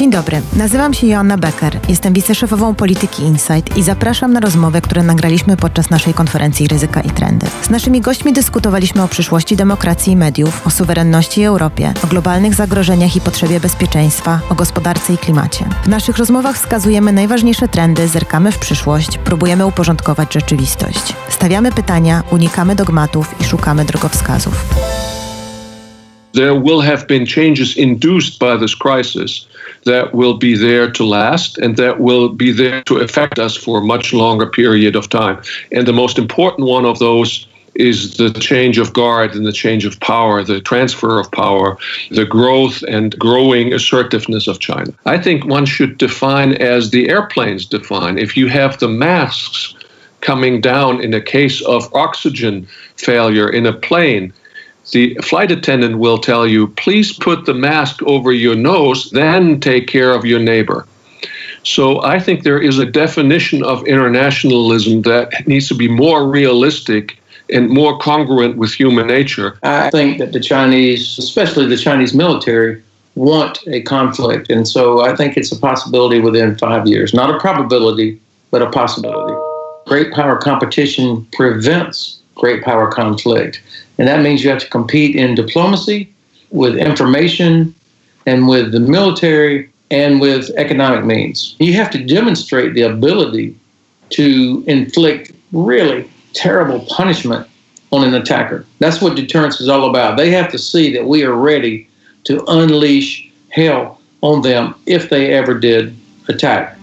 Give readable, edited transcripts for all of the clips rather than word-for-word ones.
Dzień dobry, nazywam się Joanna Becker, jestem wiceszefową polityki Insight i zapraszam na rozmowę, które nagraliśmy podczas naszej konferencji Ryzyka i Trendy. Z naszymi gośćmi dyskutowaliśmy o przyszłości demokracji i mediów, o suwerenności i Europie, o globalnych zagrożeniach i potrzebie bezpieczeństwa, o gospodarce i klimacie. W naszych rozmowach wskazujemy najważniejsze trendy, zerkamy w przyszłość, próbujemy uporządkować rzeczywistość. Stawiamy pytania, unikamy dogmatów i szukamy drogowskazów. There will have been changes induced by this crisis that will be there to last and that will be there to affect us for a much longer period of time. And the most important one of those is the change of guard and the change of power, the transfer of power, the growth and growing assertiveness of China. I think one should define as the airplanes define. If you have the masks coming down in a case of oxygen failure in a plane, the flight attendant will tell you, please put the mask over your nose, then take care of your neighbor. So I think there is a definition of internationalism that needs to be more realistic and more congruent with human nature. I think that the Chinese, especially the Chinese military, want a conflict. And so I think it's a possibility within 5 years. Not a probability, but a possibility. Great power competition prevents great power conflict. And that means you have to compete in diplomacy, with information, and with the military, and with economic means. You have to demonstrate the ability to inflict really terrible punishment on an attacker. That's what deterrence is all about. They have to see that we are ready to unleash hell on them if they ever did attack.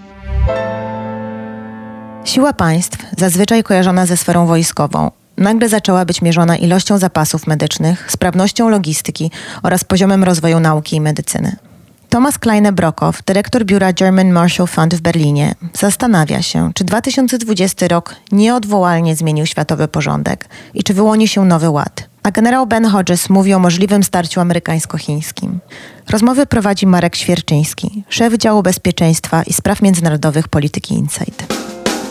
Siła państw, zazwyczaj kojarzona ze sferą wojskową, nagle zaczęła być mierzona ilością zapasów medycznych, sprawnością logistyki oraz poziomem rozwoju nauki i medycyny. Thomas Kleine-Brockhoff, dyrektor biura German Marshall Fund w Berlinie, zastanawia się, czy 2020 rok nieodwołalnie zmienił światowy porządek i czy wyłoni się nowy ład. A generał Ben Hodges mówi o możliwym starciu amerykańsko-chińskim. Rozmowy prowadzi Marek Świerczyński, szef działu bezpieczeństwa i spraw międzynarodowych polityki Insight.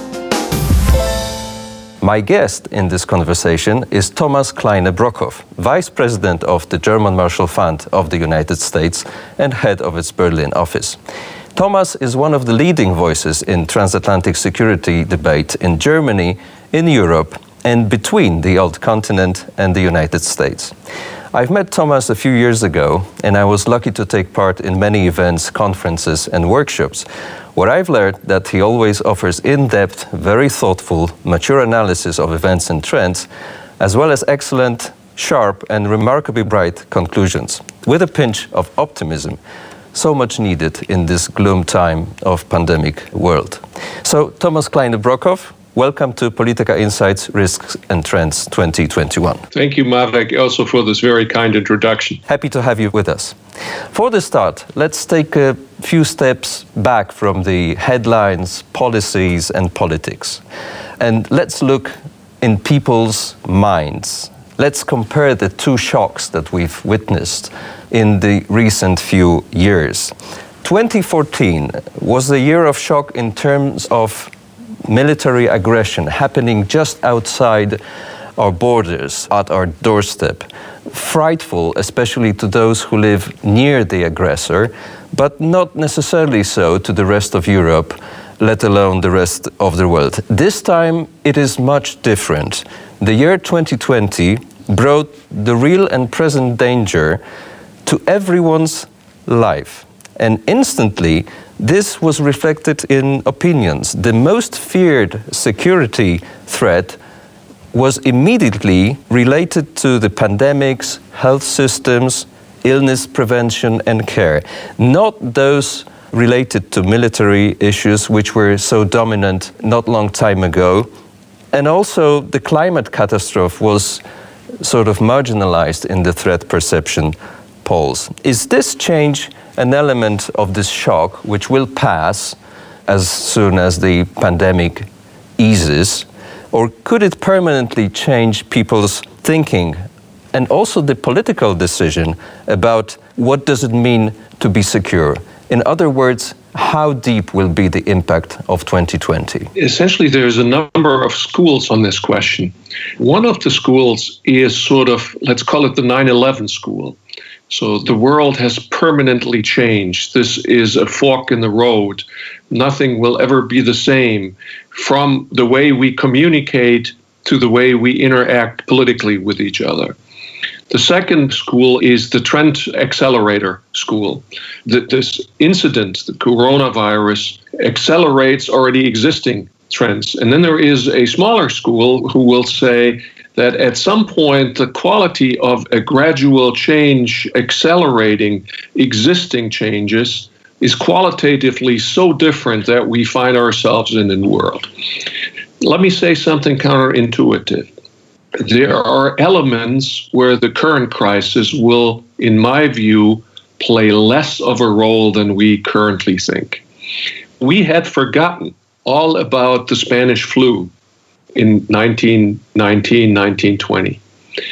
My guest in this conversation is Thomas Kleine-Brockhoff, Vice President of the German Marshall Fund of the United States and head of its Berlin office. Thomas is one of the leading voices in transatlantic security debate in Germany, in Europe, and between the old continent and the United States. I've met Thomas a few years ago, and I was lucky to take part in many events, conferences, and workshops, where I've learned that he always offers in-depth, very thoughtful, mature analysis of events and trends, as well as excellent, sharp, and remarkably bright conclusions, with a pinch of optimism, so much needed in this gloom time of pandemic world. So, Thomas Kleine-Brockhoff, welcome to Politica Insights Risks and Trends 2021. Thank you, Marek, also for this very kind introduction. Happy to have you with us. For the start, let's take a few steps back from the headlines, policies, and politics. And let's look in people's minds. Let's compare the two shocks that we've witnessed in the recent few years. 2014 was a year of shock in terms of military aggression happening just outside our borders, at our doorstep. Frightful, especially to those who live near the aggressor, but not necessarily so to the rest of Europe, let alone the rest of the world. This time it is much different. The year 2020 brought the real and present danger to everyone's life. And instantly, this was reflected in opinions. The most feared security threat was immediately related to the pandemics, health systems, illness prevention and care, not those related to military issues, which were so dominant not long time ago. And also the climate catastrophe was sort of marginalized in the threat perception polls. Is this change an element of this shock which will pass as soon as the pandemic eases, or could it permanently change people's thinking and also the political decision about what does it mean to be secure? In other words, how deep will be the impact of 2020? Essentially, there's a number of schools on this question. One of the schools is sort of, let's call it the 9/11 school, So the world has permanently changed. This is a fork in the road. Nothing will ever be the same, from the way we communicate to the way we interact politically with each other. The second school is the trend accelerator school. This incident, the coronavirus, accelerates already existing trends. And then there is a smaller school who will say that at some point the quality of a gradual change accelerating existing changes is qualitatively so different that we find ourselves in a new world. Let me say something counterintuitive. There are elements where the current crisis will, in my view, play less of a role than we currently think. We had forgotten all about the Spanish flu in 1919, 1920,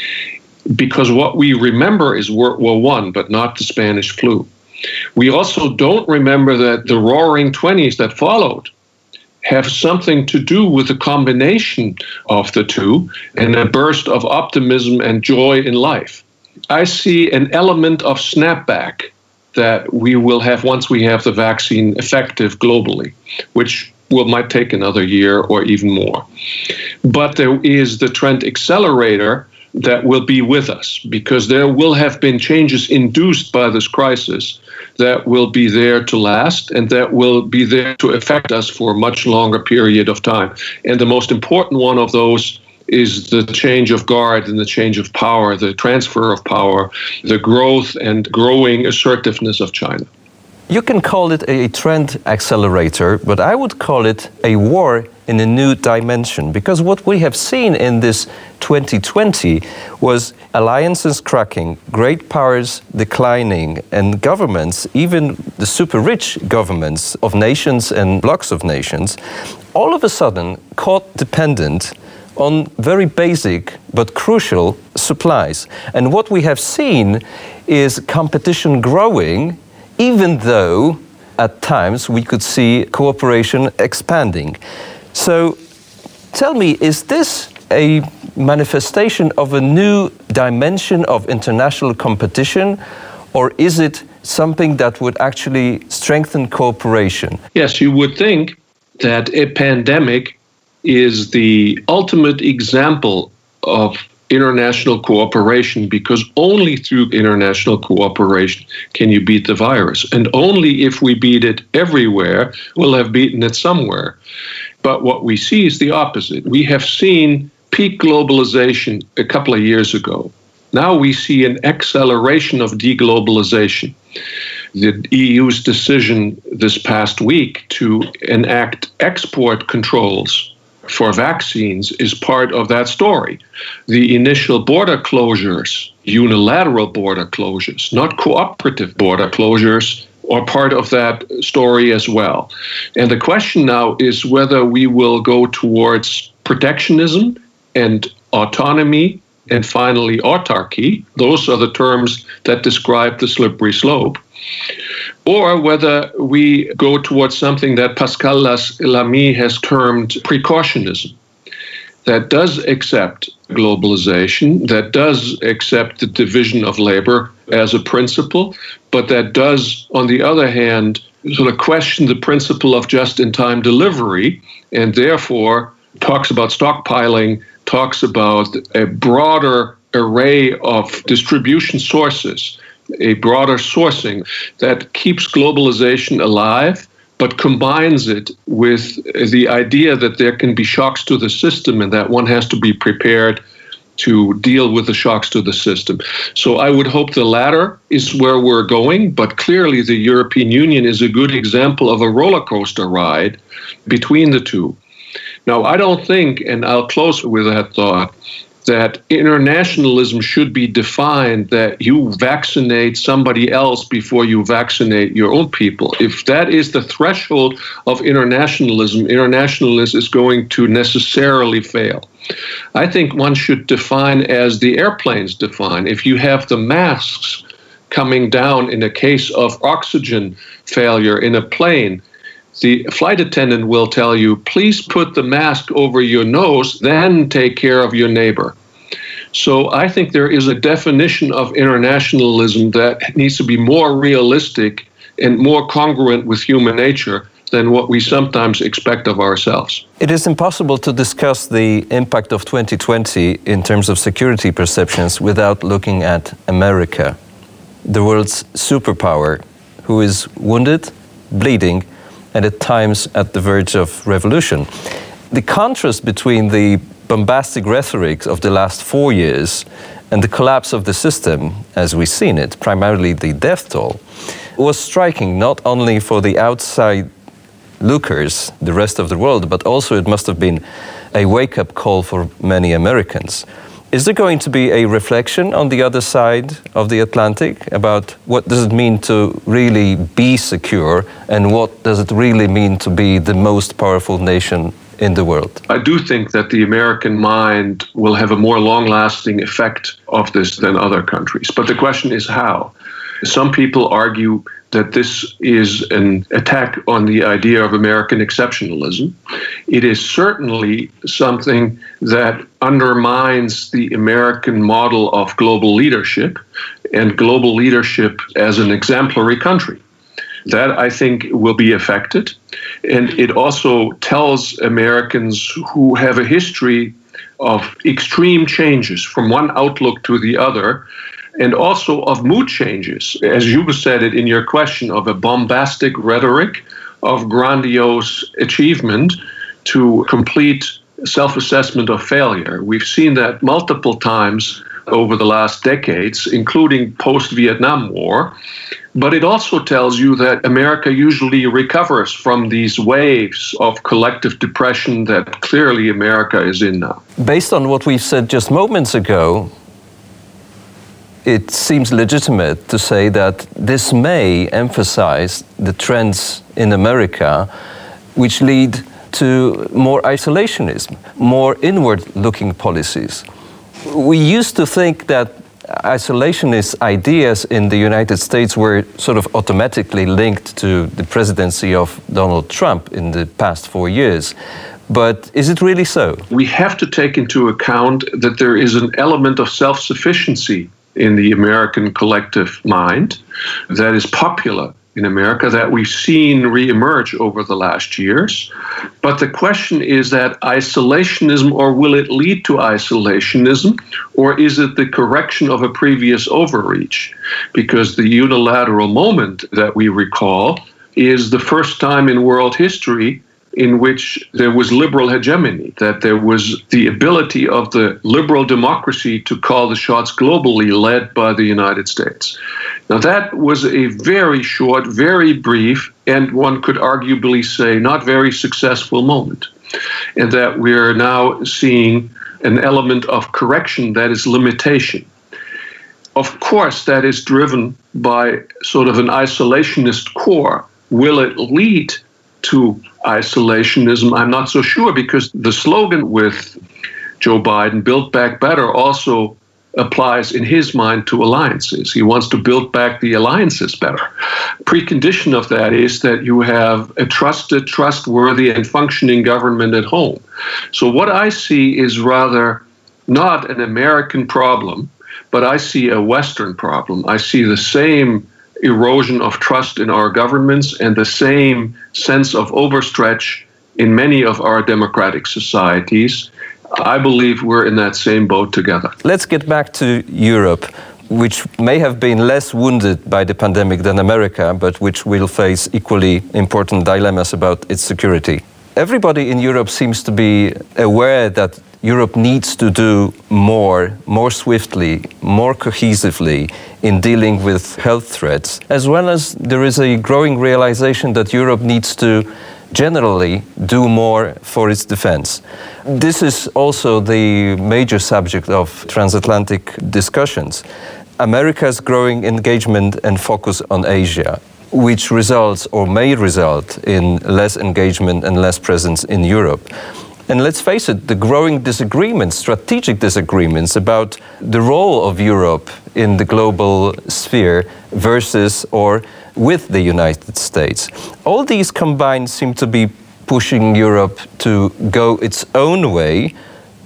because what we remember is World War I, but not the Spanish flu. We also don't remember that the roaring 20s that followed have something to do with the combination of the two and a burst of optimism and joy in life. I see an element of snapback that we will have once we have the vaccine effective globally, which might take another year or even more. But there is the trend accelerator that will be with us, because there will have been changes induced by this crisis that will be there to last and that will be there to affect us for a much longer period of time. And the most important one of those is the change of guard and the change of power, the transfer of power, the growth and growing assertiveness of China. You can call it a trend accelerator, but I would call it a war in a new dimension, because what we have seen in this 2020 was alliances cracking, great powers declining, and governments, even the super rich governments of nations and blocks of nations, all of a sudden caught dependent on very basic but crucial supplies. And what we have seen is competition growing, even though at times we could see cooperation expanding. So tell me, is this a manifestation of a new dimension of international competition, or is it something that would actually strengthen cooperation? Yes, you would think that a pandemic is the ultimate example of international cooperation, because only through international cooperation can you beat the virus. And only if we beat it everywhere, we'll have beaten it somewhere. But what we see is the opposite. We have seen peak globalization a couple of years ago. Now we see an acceleration of deglobalization. The EU's decision this past week to enact export controls for vaccines is part of that story. The initial border closures, unilateral border closures, not cooperative border closures, are part of that story as well. And the question now is whether we will go towards protectionism and autonomy and finally autarky. Those are the terms that describe the slippery slope. Or whether we go towards something that Pascal Lamy has termed precautionism, that does accept globalization, that does accept the division of labor as a principle, but that does, on the other hand, sort of question the principle of just-in-time delivery, and therefore talks about stockpiling, talks about a broader array of distribution sources, a broader sourcing that keeps globalization alive, but combines it with the idea that there can be shocks to the system and that one has to be prepared to deal with the shocks to the system. So I would hope the latter is where we're going, but clearly the European Union is a good example of a roller coaster ride between the two. Now, I don't think, and I'll close with that thought, that internationalism should be defined that you vaccinate somebody else before you vaccinate your own people. If that is the threshold of internationalism, internationalism is going to necessarily fail. I think one should define as the airplanes define. If you have the masks coming down in a case of oxygen failure in a plane, the flight attendant will tell you, please put the mask over your nose, then take care of your neighbor. So I think there is a definition of internationalism that needs to be more realistic and more congruent with human nature than what we sometimes expect of ourselves. It is impossible to discuss the impact of 2020 in terms of security perceptions without looking at America, the world's superpower, who is wounded, bleeding, and at times at the verge of revolution. The contrast between the bombastic rhetoric of the last 4 years and the collapse of the system, as we've seen it, primarily the death toll, was striking not only for the outside lookers, the rest of the world, but also it must have been a wake-up call for many Americans. Is there going to be a reflection on the other side of the Atlantic about what does it mean to really be secure and what does it really mean to be the most powerful nation in the world? I do think that the American mind will have a more long-lasting effect of this than other countries. But the question is how. Some people argue that this is an attack on the idea of American exceptionalism. It is certainly something that undermines the American model of global leadership and global leadership as an exemplary country. That, I think, will be affected. And it also tells Americans who have a history of extreme changes from one outlook to the other, and also of mood changes, as you said it in your question, of a bombastic rhetoric, of grandiose achievement to complete self-assessment of failure. We've seen that multiple times over the last decades, including post-Vietnam War. But it also tells you that America usually recovers from these waves of collective depression that clearly America is in now. Based on what we've said just moments ago, it seems legitimate to say that this may emphasize the trends in America which lead to more isolationism, more inward-looking policies. We used to think that isolationist ideas in the United States were sort of automatically linked to the presidency of Donald Trump in the past 4 years. But is it really so? We have to take into account that there is an element of self-sufficiency in the American collective mind that is popular in America, that we've seen reemerge over the last years. But the question is that isolationism, or will it lead to isolationism, or is it the correction of a previous overreach? Because the unilateral moment that we recall is the first time in world history in which there was liberal hegemony, that there was the ability of the liberal democracy to call the shots globally, led by the United States. Now, that was a very short, very brief, and one could arguably say not very successful moment. And that we're now seeing an element of correction that is limitation. Of course, that is driven by sort of an isolationist core. Will it lead to isolationism? I'm not so sure, because the slogan with Joe Biden, Build Back Better, also applies in his mind to alliances. He wants to build back the alliances better. Precondition of that is that you have a trusted, trustworthy, and functioning government at home. So what I see is rather not an American problem, but I see a Western problem. I see the same erosion of trust in our governments and the same sense of overstretch in many of our democratic societies. I believe we're in that same boat together. Let's get back to Europe, which may have been less wounded by the pandemic than America, but which will face equally important dilemmas about its security. Everybody in Europe seems to be aware that Europe needs to do more swiftly, more cohesively in dealing with health threats, as well as there is a growing realization that Europe needs to generally do more for its defense. This is also the major subject of transatlantic discussions. America's growing engagement and focus on Asia, which results or may result in less engagement and less presence in Europe. And let's face it, the growing disagreements, strategic disagreements about the role of Europe in the global sphere versus or with the United States. All these combined seem to be pushing Europe to go its own way,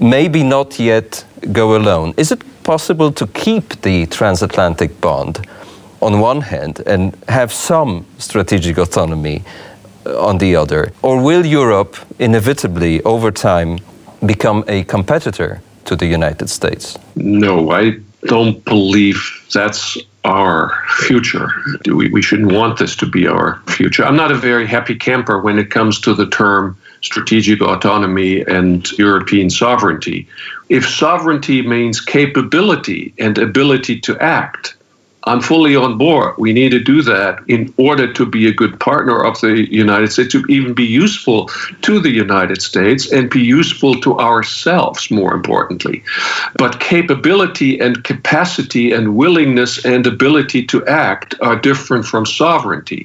maybe not yet go alone. Is it possible to keep the transatlantic bond on one hand and have some strategic autonomy on the other? Or will Europe inevitably, over time, become a competitor to the United States? No, I don't believe that's our future. We shouldn't want this to be our future. I'm not a very happy camper when it comes to the term strategic autonomy and European sovereignty. If sovereignty means capability and ability to act, I'm fully on board. We need to do that in order to be a good partner of the United States, to even be useful to the United States and be useful to ourselves, more importantly. But capability and capacity and willingness and ability to act are different from sovereignty.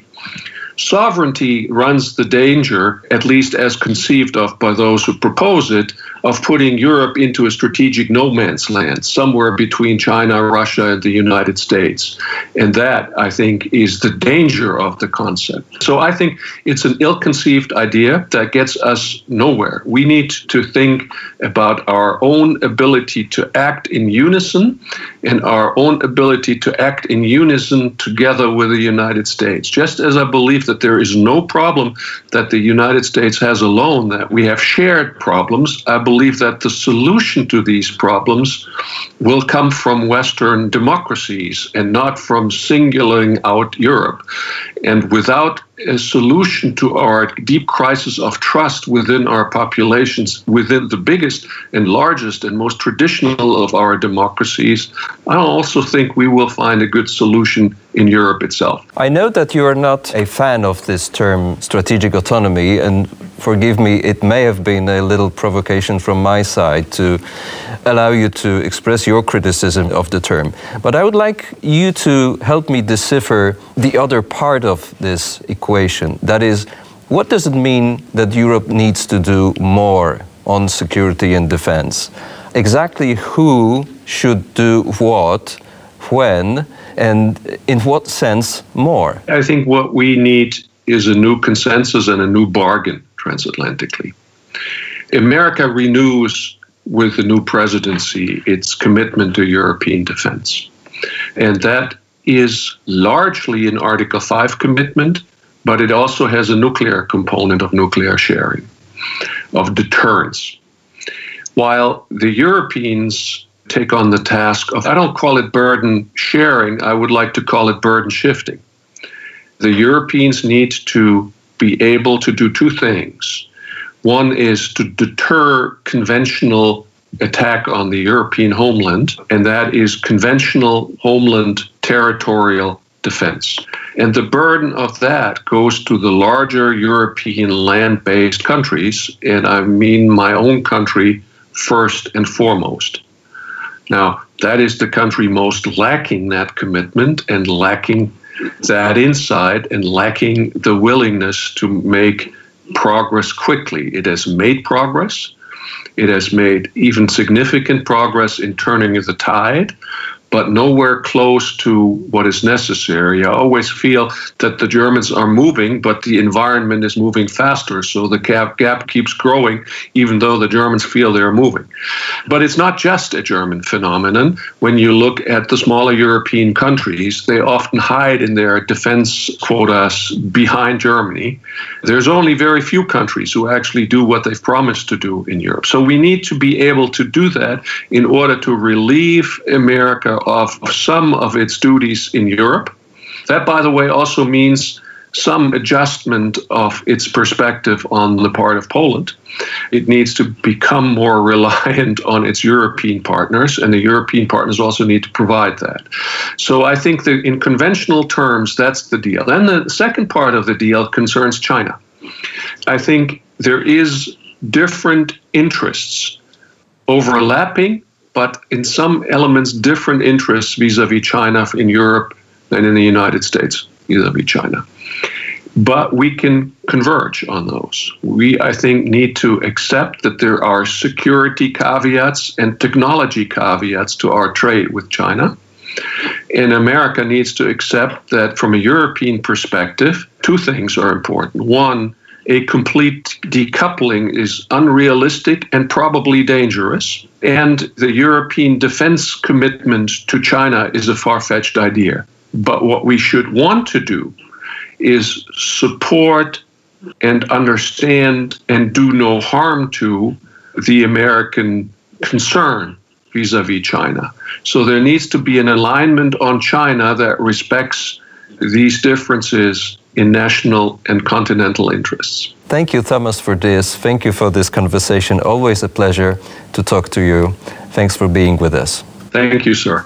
Sovereignty runs the danger, at least as conceived of by those who propose it, of putting Europe into a strategic no man's land, somewhere between China, Russia, and the United States. And that, I think, is the danger of the concept. So I think it's an ill-conceived idea that gets us nowhere. We need to think about our own ability to act in unison and our own ability to act in unison together with the United States. Just as I believe that there is no problem that the United States has alone, that we have shared problems, I believe that the solution to these problems will come from Western democracies and not from singling out Europe. And without a solution to our deep crisis of trust within our populations, within the biggest and largest and most traditional of our democracies, I also think we will find a good solution in Europe itself. I know that you are not a fan of this term strategic autonomy, and forgive me, it may have been a little provocation from my side to allow you to express your criticism of the term. But I would like you to help me decipher the other part of this equation. That is, what does it mean that Europe needs to do more on security and defense? Exactly who should do what, when, and in what sense more? I think what we need is a new consensus and a new bargain transatlantically. America renews with the new presidency its commitment to European defense. And that is largely an Article 5 commitment, but it also has a nuclear component of nuclear sharing, of deterrence. While the Europeans take on the task of, I don't call it burden sharing, I would like to call it burden shifting. The Europeans need to be able to do two things. One is to deter conventional attack on the European homeland, and that is conventional homeland territorial defense. And the burden of that goes to the larger European land-based countries, and I mean my own country first and foremost. Now, that is the country most lacking that commitment and lacking that insight and lacking the willingness to make progress quickly. It has made progress. It has made even significant progress in turning the tide, but nowhere close to what is necessary. I always feel that the Germans are moving, but the environment is moving faster, so the gap keeps growing, even though the Germans feel they're moving. But it's not just a German phenomenon. When you look at the smaller European countries, they often hide in their defense quotas behind Germany. There's only very few countries who actually do what they've promised to do in Europe. So we need to be able to do that in order to relieve America of some of its duties in Europe. That, by the way, also means some adjustment of its perspective on the part of Poland. It needs to become more reliant on its European partners, and the European partners also need to provide that. So I think that in conventional terms, that's the deal. Then the second part of the deal concerns China. I think there is different interests overlapping, but in some elements, different interests vis-a-vis China in Europe than in the United States vis-a-vis China. But we can converge on those. We, I think, need to accept that there are security caveats and technology caveats to our trade with China. And America needs to accept that from a European perspective, two things are important. One, a complete decoupling is unrealistic and probably dangerous. And the European defense commitment to China is a far-fetched idea. But what we should want to do is support and understand and do no harm to the American concern vis-a-vis China. So there needs to be an alignment on China that respects these differences in national and continental interests. Thank you, Thomas, for this. Thank you for this conversation. Always a pleasure to talk to you. Thanks for being with us. Thank you, sir.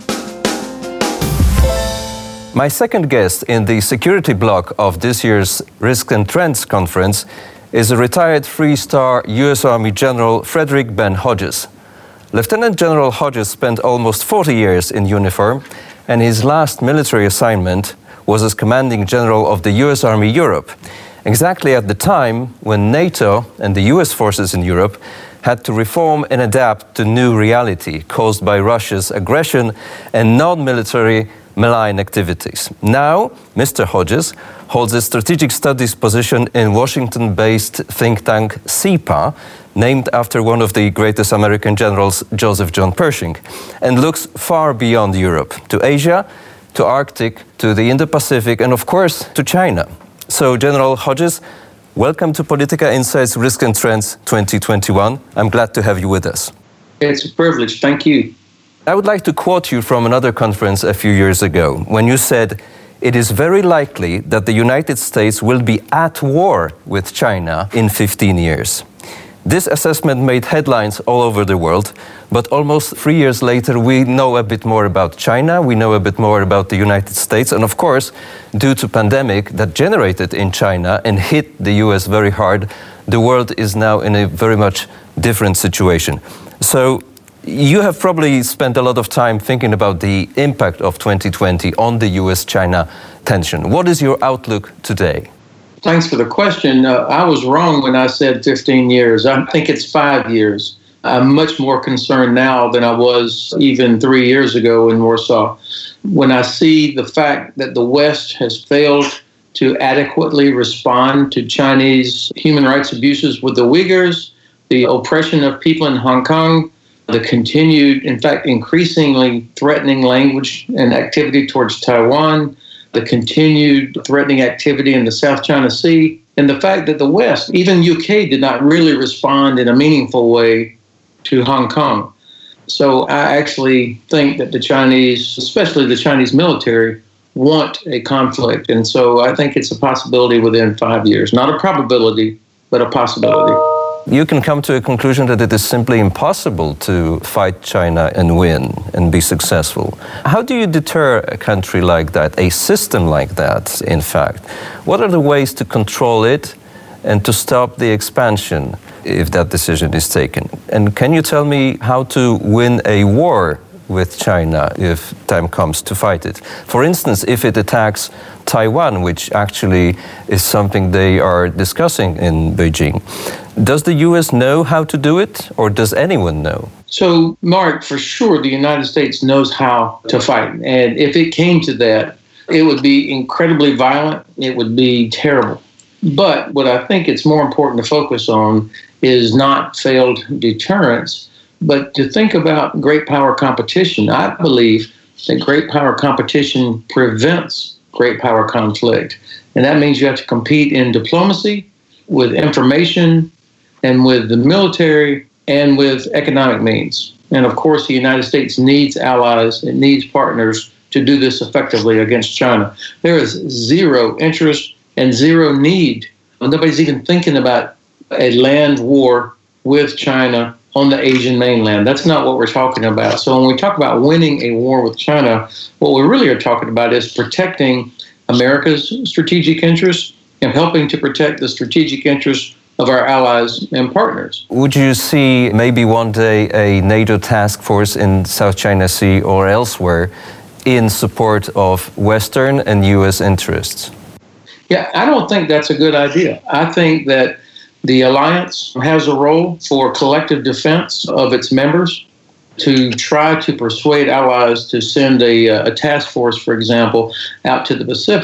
My second guest in the security block of this year's Risk and Trends conference is a retired three-star U.S. Army General Frederick Ben Hodges. Lieutenant General Hodges spent almost 40 years in uniform, and his last military assignment was as commanding general of the U.S. Army Europe, exactly at the time when NATO and the U.S. forces in Europe had to reform and adapt to new reality caused by Russia's aggression and non-military malign activities. Now, Mr. Hodges holds a strategic studies position in Washington-based think tank SIPA, named after one of the greatest American generals, Joseph John Pershing, and looks far beyond Europe, to Asia, to Arctic, to the Indo-Pacific, and of course, to China. So, General Hodges, welcome to Politica Insights Risk and Trends 2021. I'm glad to have you with us. It's a privilege. Thank you. I would like to quote you from another conference a few years ago, when you said, "It is very likely that the United States will be at war with China in 15 years. This assessment made headlines all over the world, but almost 3 years later, we know a bit more about China, we know a bit more about the United States, and of course, due to pandemic that generated in China and hit the US very hard, the world is now in a very much different situation. So, you have probably spent a lot of time thinking about the impact of 2020 on the US-China tension. What is your outlook today? Thanks for the question. I was wrong when I said 15 years. I think it's 5 years. I'm much more concerned now than I was even 3 years ago in Warsaw. When I see the fact that the West has failed to adequately respond to Chinese human rights abuses with the Uyghurs, the oppression of people in Hong Kong, the continued, in fact, increasingly threatening language and activity towards Taiwan, the continued threatening activity in the South China Sea, and the fact that the West, even UK, did not really respond in a meaningful way to Hong Kong. So I actually think that the Chinese, especially the Chinese military, want a conflict. And so I think it's a possibility within 5 years. Not a probability, but a possibility. You can come to a conclusion that it is simply impossible to fight China and win and be successful. How do you deter a country like that, a system like that, in fact? What are the ways to control it and to stop the expansion if that decision is taken? And can you tell me how to win a war with China if time comes to fight it? For instance, if it attacks Taiwan, which actually is something they are discussing in Beijing, does the US know how to do it, or does anyone know? So, Mark, for sure, the United States knows how to fight. And if it came to that, it would be incredibly violent. It would be terrible. But what I think it's more important to focus on is not failed deterrence, but to think about great power competition. I believe that great power competition prevents great power conflict. And that means you have to compete in diplomacy, with information, and with the military, and with economic means. And of course, the United States needs allies, it needs partners to do this effectively against China. There is zero interest and zero need. Nobody's even thinking about a land war with China on the Asian mainland. That's not what we're talking about. So when we talk about winning a war with China, what we really are talking about is protecting America's strategic interests and helping to protect the strategic interests of our allies and partners. Would you see maybe one day a NATO task force in South China Sea or elsewhere in support of Western and US interests? Yeah, I don't think that's a good idea. I think that the alliance has a role for collective defense of its members, to try to persuade allies to send a task force, for example, out to the Pacific.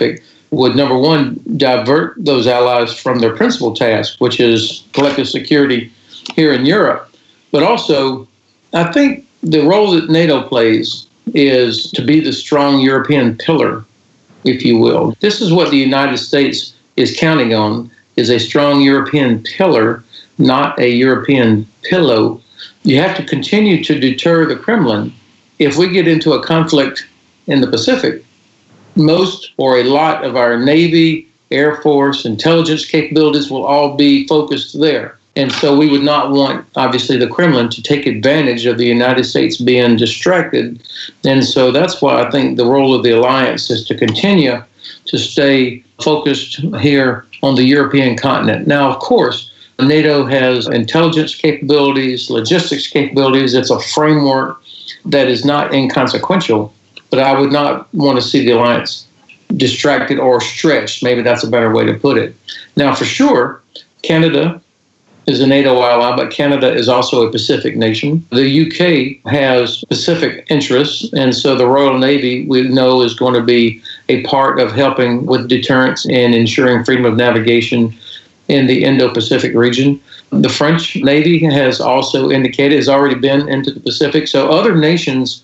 would, number one, divert those allies from their principal task, which is collective security here in Europe. But also, I think the role that NATO plays is to be the strong European pillar, if you will. This is what the United States is counting on, is a strong European pillar, not a European pillow. You have to continue to deter the Kremlin. If we get into a conflict in the Pacific, most or a lot of our Navy, Air Force, intelligence capabilities will all be focused there. And so we would not want, obviously, the Kremlin to take advantage of the United States being distracted. And so that's why I think the role of the alliance is to continue to stay focused here on the European continent. Now, of course, NATO has intelligence capabilities, logistics capabilities. It's a framework that is not inconsequential, but I would not want to see the alliance distracted or stretched. Maybe that's a better way to put it. Now, for sure, Canada is a NATO ally, but Canada is also a Pacific nation. The UK has Pacific interests, and so the Royal Navy, we know, is going to be a part of helping with deterrence and ensuring freedom of navigation in the Indo-Pacific region. The French Navy has also indicated, has already been into the Pacific. So other nations,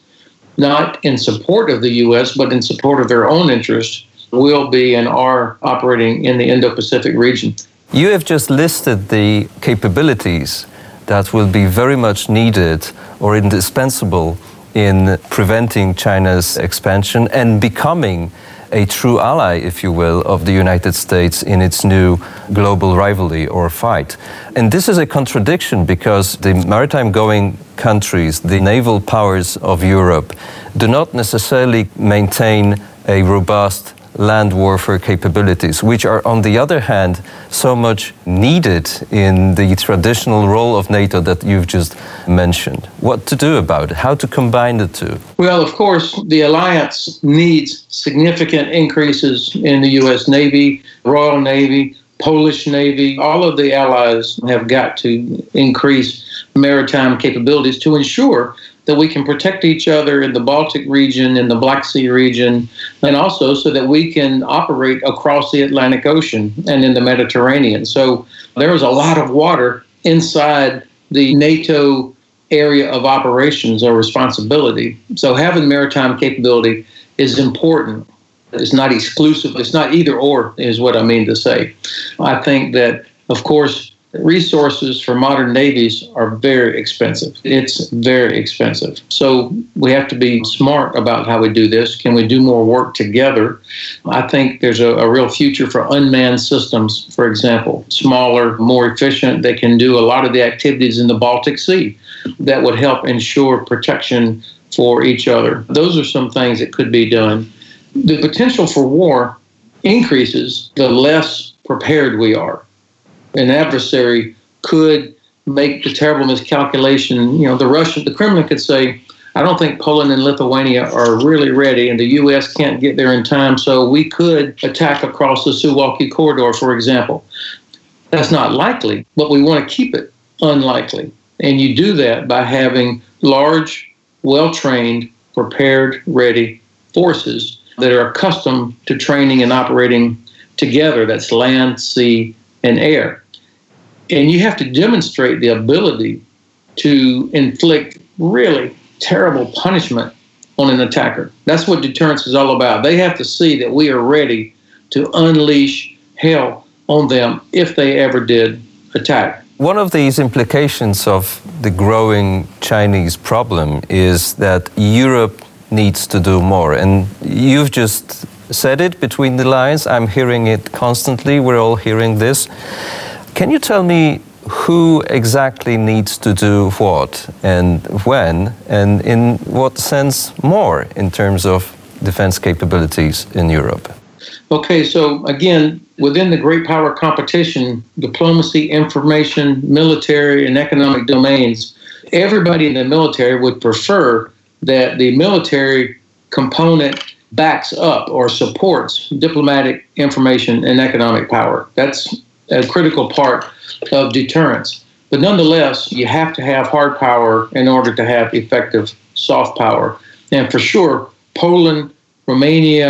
not in support of the U.S., but in support of their own interests, will be and are operating in the Indo-Pacific region. You have just listed the capabilities that will be very much needed or indispensable in preventing China's expansion and becoming a true ally, if you will, of the United States in its new global rivalry or fight. And this is a contradiction because the maritime-going countries, the naval powers of Europe, do not necessarily maintain a robust land warfare capabilities, which are, on the other hand, so much needed in the traditional role of NATO that you've just mentioned. What to do about it? How to combine the two? Well, of course, the alliance needs significant increases in the U.S. Navy, Royal Navy, Polish Navy. All of the allies have got to increase maritime capabilities to ensure that we can protect each other in the Baltic region, in the Black Sea region, and also so that we can operate across the Atlantic Ocean and in the Mediterranean. So there is a lot of water inside the NATO area of operations or responsibility. So having maritime capability is important. It's not exclusive. It's not either or, is what I mean to say. I think that, of course, resources for modern navies are very expensive. It's very expensive. So we have to be smart about how we do this. Can we do more work together? I think there's a real future for unmanned systems, for example, smaller, more efficient. They can do a lot of the activities in the Baltic Sea that would help ensure protection for each other. Those are some things that could be done. The potential for war increases the less prepared we are. An adversary could make the terrible miscalculation. You know, the Kremlin could say, I don't think Poland and Lithuania are really ready, and the U.S. can't get there in time, so we could attack across the Suwalki corridor, for example. That's not likely, but we want to keep it unlikely. And you do that by having large, well-trained, prepared, ready forces that are accustomed to training and operating together. That's land, sea, and air. And you have to demonstrate the ability to inflict really terrible punishment on an attacker. That's what deterrence is all about. They have to see that we are ready to unleash hell on them if they ever did attack. One of these implications of the growing Chinese problem is that Europe needs to do more. And you've just said it between the lines. I'm hearing it constantly. We're all hearing this. Can you tell me who exactly needs to do what and when, and in what sense more in terms of defense capabilities in Europe? Okay, so again, within the great power competition, diplomacy, information, military, and economic domains, everybody in the military would prefer that the military component backs up or supports diplomatic, information, and economic power. That's a critical part of deterrence. But nonetheless, you have to have hard power in order to have effective soft power. And for sure, Poland, Romania,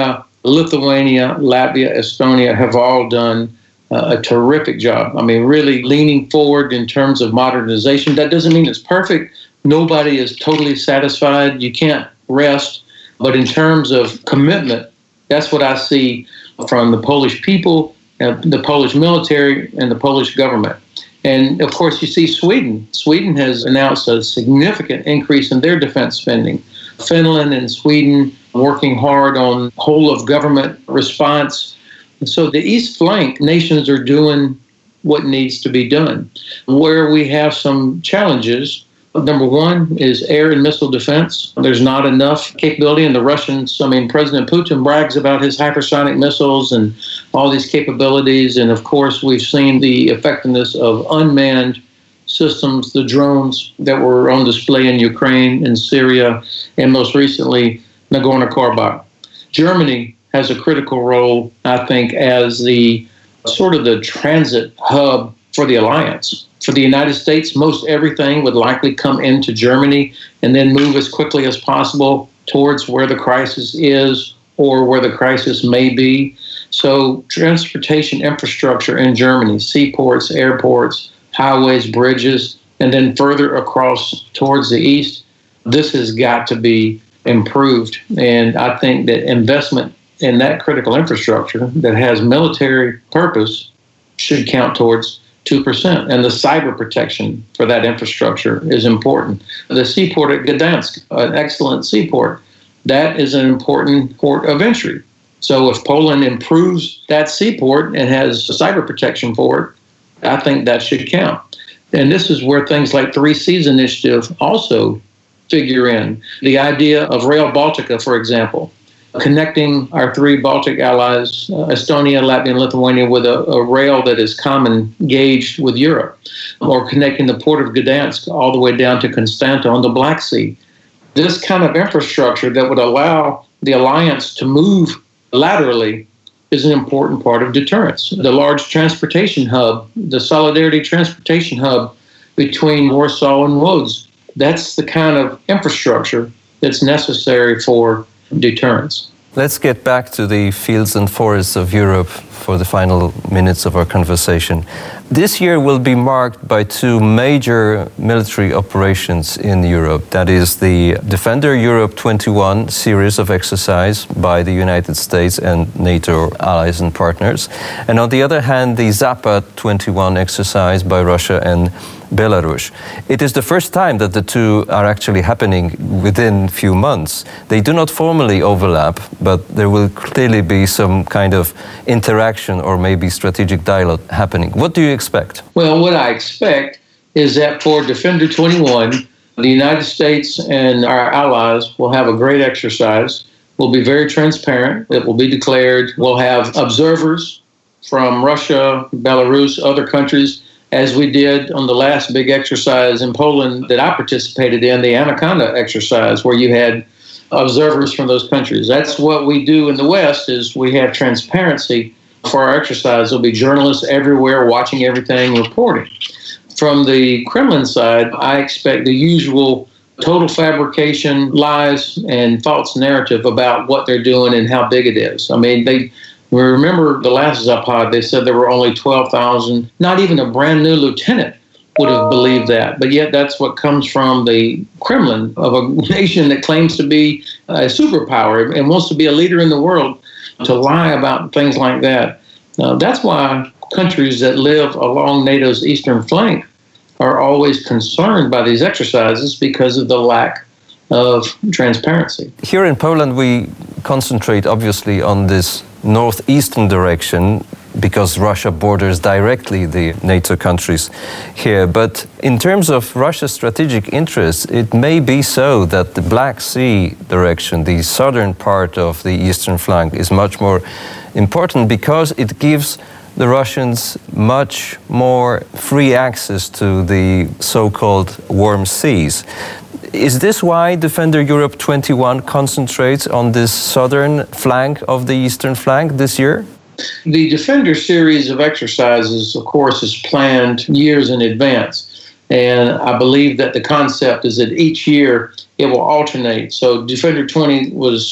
Lithuania, Latvia, Estonia have all done a terrific job. I mean, really leaning forward in terms of modernization. That doesn't mean it's perfect. Nobody is totally satisfied. You can't rest. But in terms of commitment, that's what I see from the Polish people, the Polish military, and the Polish government. And of course, you see Sweden. Sweden has announced a significant increase in their defense spending. Finland and Sweden working hard on whole of government response. So the East Flank nations are doing what needs to be done. Where we have some challenges, number one is air and missile defense. There's not enough capability, and the Russians, President Putin brags about his hypersonic missiles and all these capabilities. And of course, we've seen the effectiveness of unmanned systems, the drones that were on display in Ukraine and Syria, and most recently, Nagorno-Karabakh. Germany has a critical role, I think, as the sort of the transit hub for the alliance. For the United States, most everything would likely come into Germany and then move as quickly as possible towards where the crisis is or where the crisis may be. So transportation infrastructure in Germany, seaports, airports, highways, bridges, and then further across towards the east, this has got to be improved. And I think that investment in that critical infrastructure that has military purpose should count towards 2%. And the cyber protection for that infrastructure is important. The seaport at Gdansk, an excellent seaport, that is an important port of entry. So if Poland improves that seaport and has cyber protection for it, I think that should count. And this is where things like 3Cs initiative also figure in. The idea of Rail Baltica, for example, connecting our three Baltic allies, Estonia, Latvia, and Lithuania, with a rail that is common gauge with Europe, or connecting the port of Gdansk all the way down to Constanta on the Black Sea. This kind of infrastructure that would allow the alliance to move laterally is an important part of deterrence. The large transportation hub, the Solidarity Transportation Hub between Warsaw and Łódź, that's the kind of infrastructure that's necessary for deterrence. Let's get back to the fields and forests of Europe for the final minutes of our conversation. This year will be marked by two major military operations in Europe. That is the Defender Europe 21 series of exercise by the United States and NATO allies and partners. And on the other hand, the Zapad 21 exercise by Russia and Belarus. It is the first time that the two are actually happening within few months. They do not formally overlap, but there will clearly be some kind of interaction or maybe strategic dialogue happening. What do you expect? Well, what I expect is that for Defender 21, the United States and our allies will have a great exercise. We'll be very transparent. It will be declared. We'll have observers from Russia, Belarus, other countries, as we did on the last big exercise in Poland that I participated in, the Anaconda exercise, where you had observers from those countries. That's what we do in the West, is we have transparency for our exercise. There'll be journalists everywhere watching everything, reporting. From the Kremlin side, I expect the usual total fabrication, lies, and false narrative about what they're doing and how big it is. I mean, we remember the last Zapad, they said there were only 12,000. Not even a brand new lieutenant would have believed that. But yet that's what comes from the Kremlin, of a nation that claims to be a superpower and wants to be a leader in the world, to lie about things like that. That's why countries that live along NATO's eastern flank are always concerned by these exercises, because of the lack of transparency. Here in Poland, we concentrate obviously on this northeastern direction because Russia borders directly the NATO countries here. But in terms of Russia's strategic interests, it may be so that the Black Sea direction, the southern part of the eastern flank, is much more important because it gives the Russians much more free access to the so-called warm seas. Is this why Defender Europe 21 concentrates on this southern flank of the eastern flank this year? The Defender series of exercises, of course, is planned years in advance. And I believe that the concept is that each year it will alternate. So Defender 20 was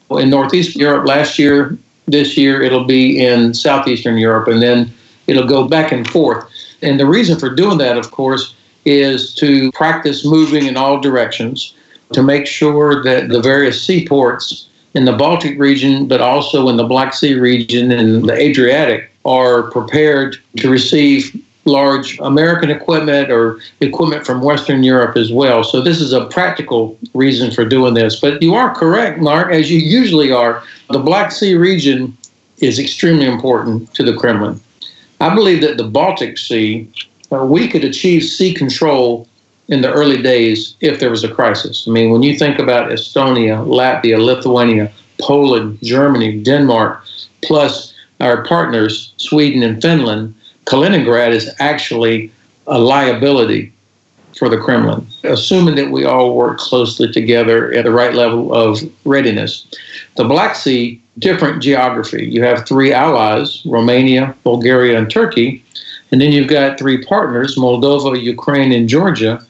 in Northeast Europe last year. This year it'll be in Southeastern Europe, and then it'll go back and forth. And the reason for doing that, of course, is to practice moving in all directions, to make sure that the various seaports in the Baltic region, but also in the Black Sea region and the Adriatic, are prepared to receive large American equipment or equipment from Western Europe as well. So this is a practical reason for doing this. But you are correct, Mark, as you usually are. The Black Sea region is extremely important to the Kremlin. I believe that the Baltic Sea, we could achieve sea control in the early days if there was a crisis. I mean, when you think about Estonia, Latvia, Lithuania, Poland, Germany, Denmark, plus our partners, Sweden and Finland, Kaliningrad is actually a liability for the Kremlin, assuming that we all work closely together at the right level of readiness. The Black Sea, different geography. You have three allies, Romania, Bulgaria, and Turkey, and then you've got three partners, Moldova, Ukraine, and Georgia,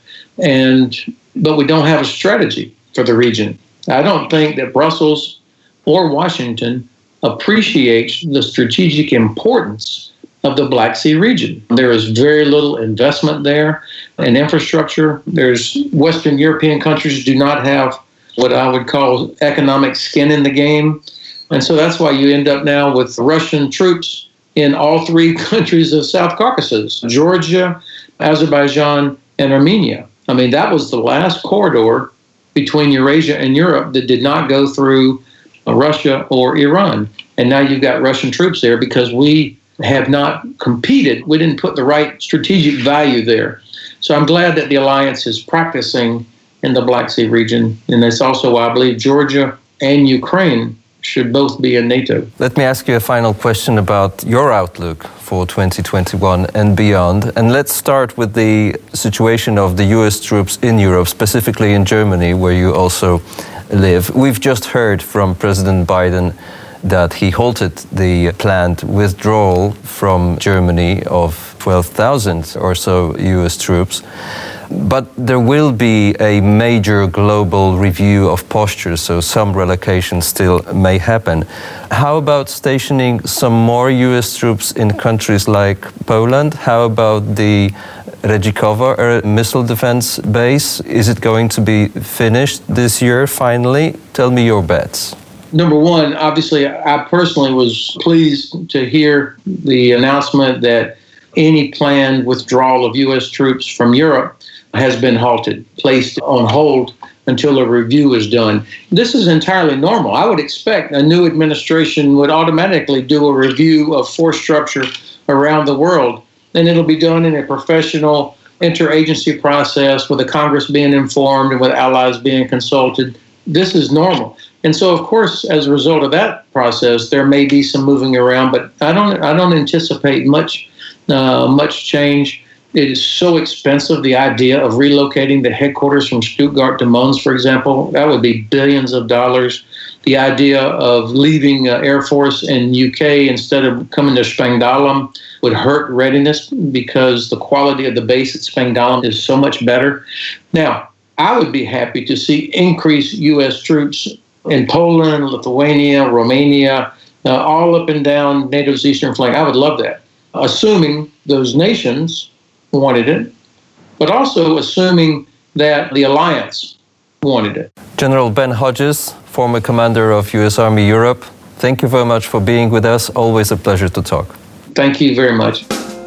but we don't have a strategy for the region. I don't think that Brussels or Washington appreciates the strategic importance of the Black Sea region. There is very little investment there in infrastructure. Western European countries do not have what I would call economic skin in the game. And so that's why you end up now with Russian troops in all three countries of South Caucasus, Georgia, Azerbaijan, and Armenia. I mean, that was the last corridor between Eurasia and Europe that did not go through Russia or Iran. And now you've got Russian troops there because we have not competed. We didn't put the right strategic value there. So I'm glad that the alliance is practicing in the Black Sea region. And that's also why I believe Georgia and Ukraine should both be in NATO. Let me ask you a final question about your outlook for 2021 and beyond. And let's start with the situation of the US troops in Europe, specifically in Germany, where you also live. We've just heard from President Biden that he halted the planned withdrawal from Germany of 12,000 or so US troops. But there will be a major global review of posture, so some relocation still may happen. How about stationing some more US troops in countries like Poland? How about the Redzikovo missile defense base? Is it going to be finished this year finally? Tell me your bets. Number one, obviously, I personally was pleased to hear the announcement that any planned withdrawal of U.S. troops from Europe has been halted, placed on hold until a review is done. This is entirely normal. I would expect a new administration would automatically do a review of force structure around the world, and it'll be done in a professional interagency process with the Congress being informed and with allies being consulted. This is normal. And so, of course, as a result of that process, there may be some moving around, but I don't anticipate much change. It is so expensive, the idea of relocating the headquarters from Stuttgart to Mons, for example. That would be billions of dollars. The idea of leaving Air Force in UK instead of coming to Spangdahlem would hurt readiness because the quality of the base at Spangdahlem is so much better. Now, I would be happy to see increased U.S. troops in Poland, Lithuania, Romania, all up and down NATO's eastern flank. I would love that, assuming those nations wanted it, but also assuming that the alliance wanted it. General Ben Hodges, former commander of U.S. Army Europe, thank you very much for being with us. Always a pleasure to talk. Thank you very much.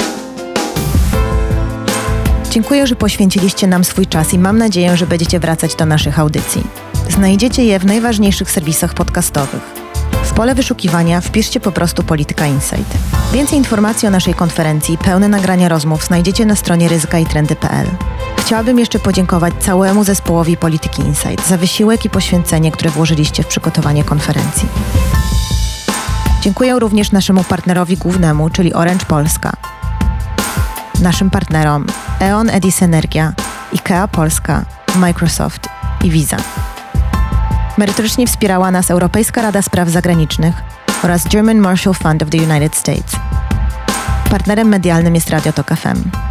Dziękuję, że poświęciliście nam swój czas i mam nadzieję, że będziecie wracać do naszych audycji. Znajdziecie je w najważniejszych serwisach podcastowych. W pole wyszukiwania wpiszcie po prostu Polityka Insight. Więcej informacji o naszej konferencji, pełne nagrania rozmów znajdziecie na stronie ryzykaitrendy.pl. Chciałabym jeszcze podziękować całemu zespołowi Polityki Insight za wysiłek i poświęcenie, które włożyliście w przygotowanie konferencji. Dziękuję również naszemu partnerowi głównemu, czyli Orange Polska, naszym partnerom E.ON, Edis Energia, IKEA Polska, Microsoft i Visa. Merytorycznie wspierała nas Europejska Rada Spraw Zagranicznych oraz German Marshall Fund of the United States. Partnerem medialnym jest Radio Tok FM.